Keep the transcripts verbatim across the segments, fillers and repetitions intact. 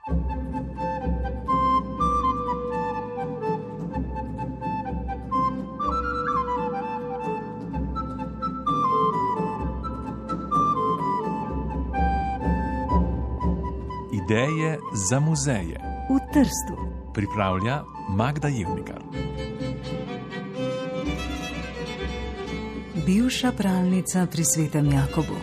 Ideje za muzeje v Trstu. Pripravlja Magda Jevnikar. Bivša pralnica pri Svetem Jakobu.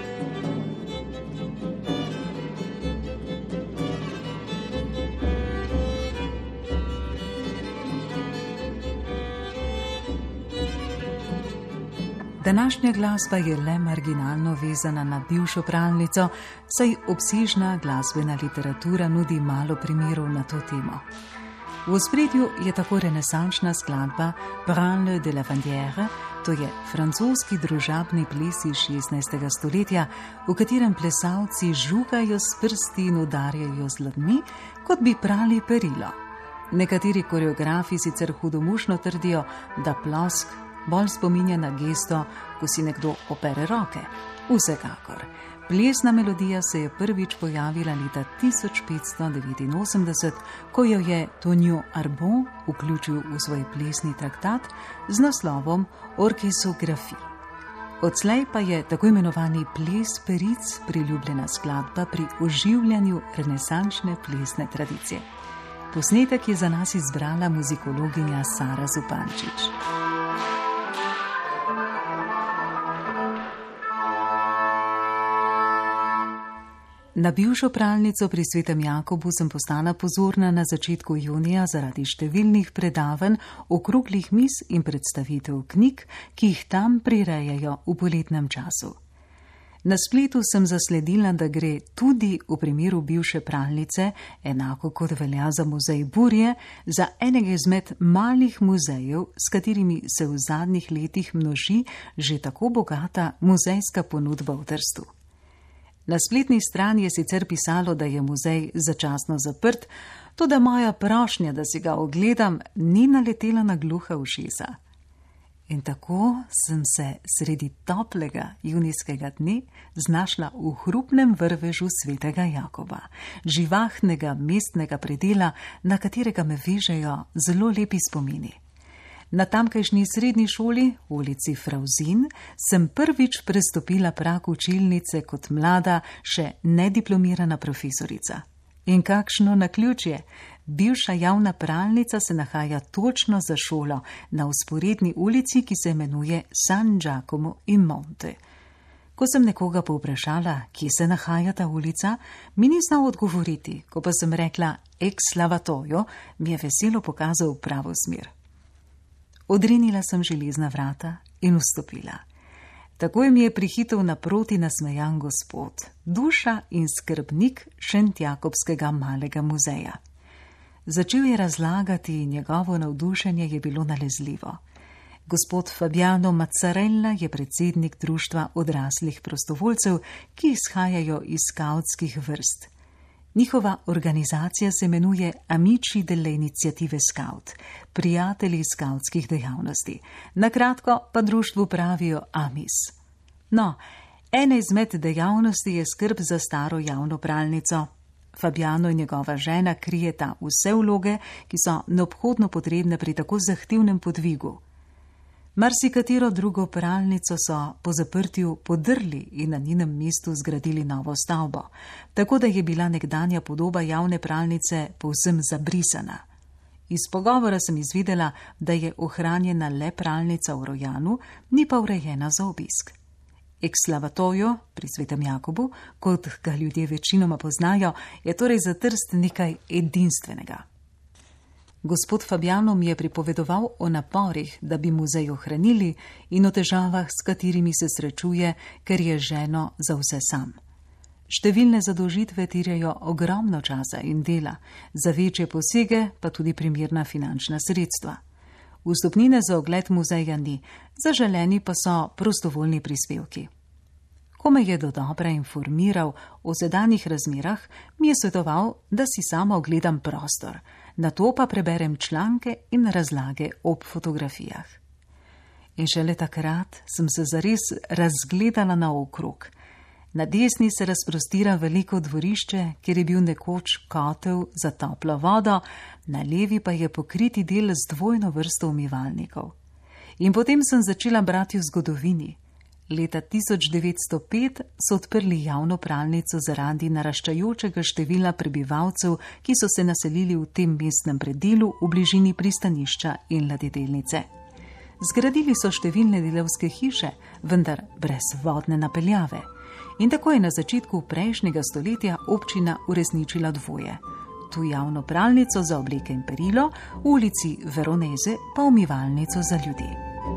Današnja glasba je le marginalno vezana na bivšo pralnico, saj obsežna glasbena literatura nudi malo primerov na to temo. V ospredju je tako renesančna skladba Branle de la Vandière, to je francoski družabni ples iz šestnajstega stoletja, v katerem plesalci žugajo s prsti in udarjajo z dlanmi, kot bi prali perilo. Nekateri koreografi sicer hudomušno trdijo, da plosk bolj spominja na gesto, ko si nekdo opere roke. Vsekakor, plesna melodija se je prvič pojavila leta tisoč petsto devetinosemdeset, ko jo je Tonio Arbon vključil v svoj plesni traktat z naslovom Orchesographie. Odslej pa je tako imenovani ples peric priljubljena skladba pri oživljanju renesančne plesne tradicije. Posnetek je za nas izbrala muzikologinja Sara Zupančič. Na bivšo pralnico pri Svetem Jakobu sem postala pozorna na začetku junija zaradi številnih predavanj, okroglih miz in predstavitev knjig, ki jih tam prirejajo v poletnem času. Na spletu sem zasledila, da gre tudi v primeru bivše pralnice, enako kot velja za muzej Burje, za enega izmed malih muzejev, s katerimi se v zadnjih letih množi že tako bogata muzejska ponudba v Trstu. Na spletni strani je sicer pisalo, da je muzej začasno zaprt, toda moja prošnja, da si ga ogledam, ni naletela na gluha ušesa. In tako sem se sredi toplega junijskega dne znašla v hrupnem vrvežu Svetega Jakoba, živahnega mestnega predela, na katerega me vežejo zelo lepi spomini. Na tamkajšnji srednji šoli, v ulici Frauzin, sem prvič prestopila prag učilnice kot mlada, še nediplomirana profesorica. In kakšno naključje! Bivša javna pralnica se nahaja točno za šolo, na vzporedni ulici, ki se imenuje San Giacomo in Monte. Ko sem nekoga povprašala, kje se nahaja ta ulica, mi ni znal odgovoriti, ko pa sem rekla ex lavatoio, mi je veselo pokazal pravo smer. Odrinila sem železna vrata in vstopila. Takoj mi je prihitel naproti nasmejan gospod, duša in skrbnik Šentjakobskega malega muzeja. Začel je razlagati in njegovo navdušenje je bilo nalezljivo. Gospod Fabiano Mazzarella je predsednik društva odraslih prostovoljcev, ki izhajajo iz skavtskih vrst. Njihova organizacija se imenuje Amici delle Iniziative Scout, prijatelji skavtskih dejavnosti. Na kratko pa društvu pravijo Amis. No, ena izmed dejavnosti je skrb za staro javno pralnico. Fabiano in njegova žena krijeta vse vloge, ki so neobhodno potrebne pri tako zahtevnem podvigu. Marsikatero drugo pralnico so po zaprtju podrli in na njenem mestu zgradili novo stavbo, tako da je bila nekdanja podoba javne pralnice povsem zabrisana. Iz pogovora sem izvedela, da je ohranjena le pralnica v Rojanu, ni pa urejena za obisk. Ex lavatoio pri Svetem Jakobu, kot ga ljudje večinoma poznajo, je torej za Trst nekaj edinstvenega. Gospod Fabiano mi je pripovedoval o naporih, da bi muzej ohranili, in o težavah, s katerimi se srečuje, ker je ženo za vse sam. Številne zadolžitve terjajo ogromno časa in dela, za večje posege pa tudi primerna finančna sredstva. Vstopnine za ogled muzeja ni, zaželeni pa so prostovoljni prispevki. Ko me je dodobra informiral o sedanjih razmerah, mi je svetoval, da si sama ogledam prostor, nato pa preberem članke in razlage ob fotografijah. In šele takrat sem se zares razgledala naokrog. Na desni se razprostira veliko dvorišče, kjer je bil nekoč kotel za toplo vodo, na levi pa je pokriti del z dvojno vrsto umivalnikov. In potem sem začela brati v zgodovini. Leta tisoč devetsto pet so odprli javno pralnico zaradi naraščajočega števila prebivalcev, ki so se naselili v tem mestnem predelu v bližini pristanišča in ladjedelnice. Zgradili so številne delavske hiše, vendar brez vodne napeljave. In tako je na začetku prejšnjega stoletja občina uresničila dvoje. Tu javno pralnico za obleke in perilo, v ulici Veroneze pa umivalnico za ljudi.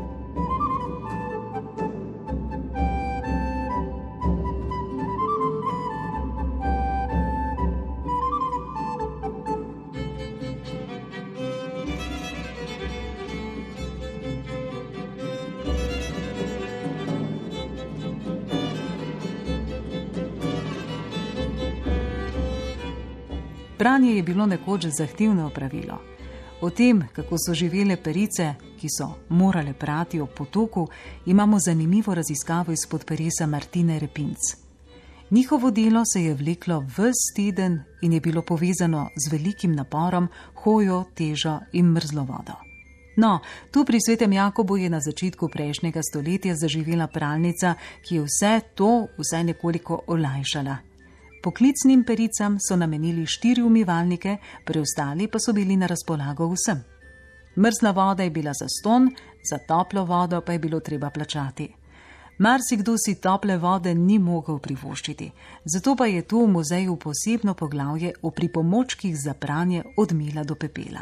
Pranje je bilo nekoč zahtevno opravilo. O tem, kako so živele perice, ki so morale prati ob potoku, imamo zanimivo raziskavo izpod peresa Martine Repinc. Njihovo delo se je vleklo ves teden in je bilo povezano z velikim naporom, hojo, težo in mrzlo vodo. No, tu pri Svetem Jakobu je na začetku prejšnjega stoletja zaživela pralnica, ki je vse to vsaj nekoliko olajšala. Poklicnim pericam so namenili štiri umivalnike, preostali pa so bili na razpolago vsem. Mrzla voda je bila zastonj, za toplo vodo pa je bilo treba plačati. Marsikdo si tople vode ni mogel privoščiti, zato pa je tu v muzeju posebno poglavje o pripomočkih za pranje od mila do pepela.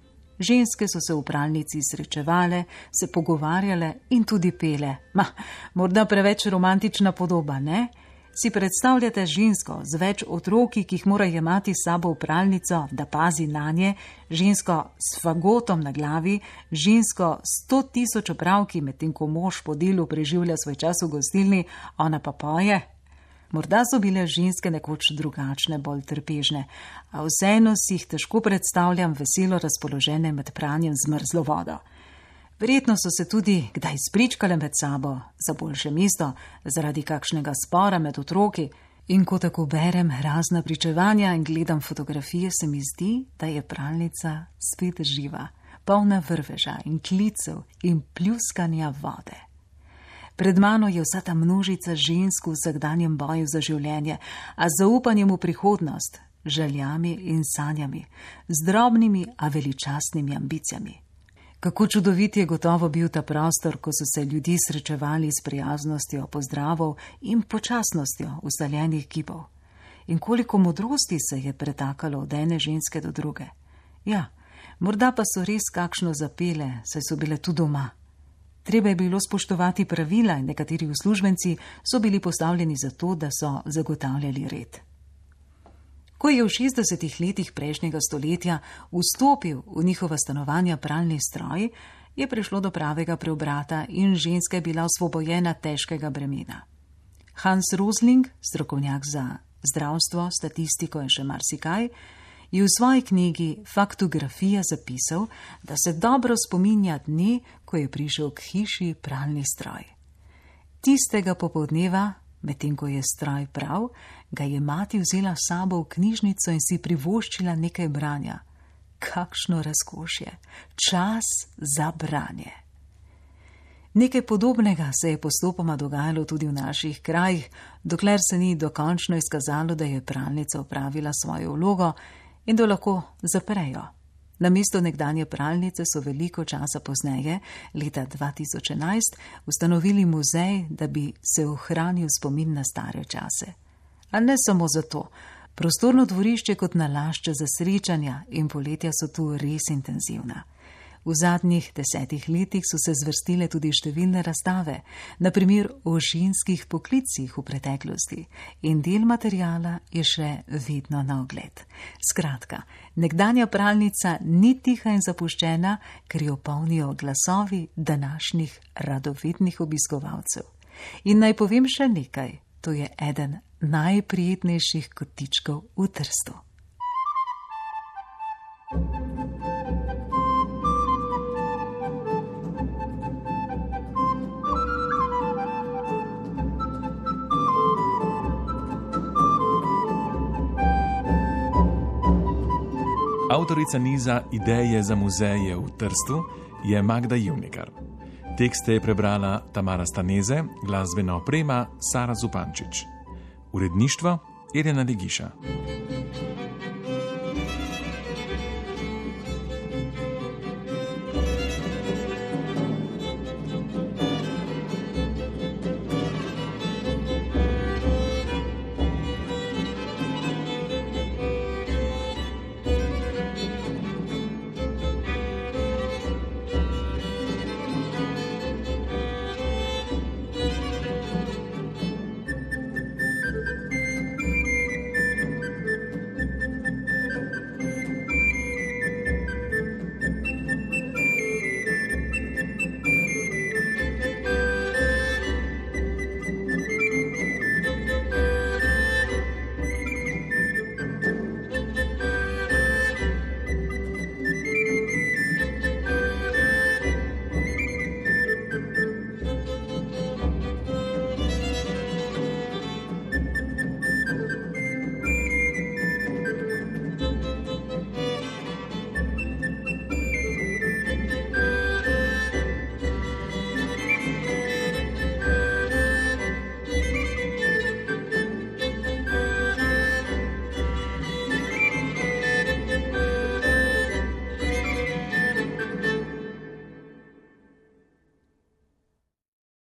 Ženske so se v pralnici srečevale, se pogovarjale in tudi pele. Ma, morda preveč romantična podoba, ne? Si predstavljate žensko z več otroki, ki jih mora jemati s sabo v pralnico, da pazi nanje, žensko s fagotom na glavi, žensko s sto tisoč opravki, medtem ko mož po delu preživlja svoj čas v gostilni, ona pa poje? Morda so bile ženske nekoč drugačne, bolj trpežne, a vseeno si jih težko predstavljam veselo razpoložene med pranjem z mrzlo vodo. Verjetno so se tudi kdaj spričkale med sabo za boljše mesto, zaradi kakšnega spora med otroki, in ko tako berem razna pričevanja in gledam fotografije, se mi zdi, da je pralnica spet živa, polna vrveža in klicev in pljuskanja vode. Pred mano je vsa ta množica žensk v vsakdanjem boju za življenje, a z zaupanjem v prihodnost, željami in sanjami, z drobnimi, a veličastnimi ambicijami. Kako čudovit je gotovo bil ta prostor, ko so se ljudje srečevali s prijaznostjo, pozdravov in počasnostjo ustaljenih gibov. In koliko modrosti se je pretakalo od ene ženske do druge. Ja, morda pa so res kakšno zapele, saj so bile tu doma. Treba je bilo spoštovati pravila in nekateri uslužbenci so bili postavljeni zato, da so zagotavljali red. Ko je v šestdesetih letih prejšnjega stoletja vstopil v njihova stanovanja pralni stroj, je prišlo do pravega preobrata in ženska je bila osvobojena težkega bremena. Hans Rosling, strokovnjak za zdravstvo, statistiko in še marsikaj, je v svoji knjigi Faktografija zapisal, da se dobro spominja dne, ko je prišel k hiši pralni stroj. Tistega popoldneva, medtem ko je stroj prav, ga je mati vzela s sabo v knjižnico in si privoščila nekaj branja. Kakšno razkošje, čas za branje. Nekaj podobnega se je postopoma dogajalo tudi v naših krajih, dokler se ni dokončno izkazalo, da je pralnica opravila svojo vlogo in da lahko zaprejo. Namesto nekdanje pralnice so veliko časa pozneje, leta dva tisoč enajst, ustanovili muzej, da bi se ohranil spomin na stare čase. A ne samo zato. Prostorno dvorišče kot nalašče za srečanja in poletja so tu res intenzivna. V zadnjih desetih letih so se zvrstile tudi številne razstave, na primer o ženskih poklicih v preteklosti, in del materijala je še vedno na ogled. Skratka, nekdanja pralnica ni tiha in zapuščena, ker jo polnijo glasovi današnjih radovednih obiskovalcev. In naj povem še nekaj, to je eden najprijetnejših kotičkov v Trstu. Avtorica niza Ideje za muzeje v Trstu je Magda Jivnikar. Tekste je prebrala Tamara Staneze, glasbena oprema Sara Zupančič. Uredništvo Irena Ligiša.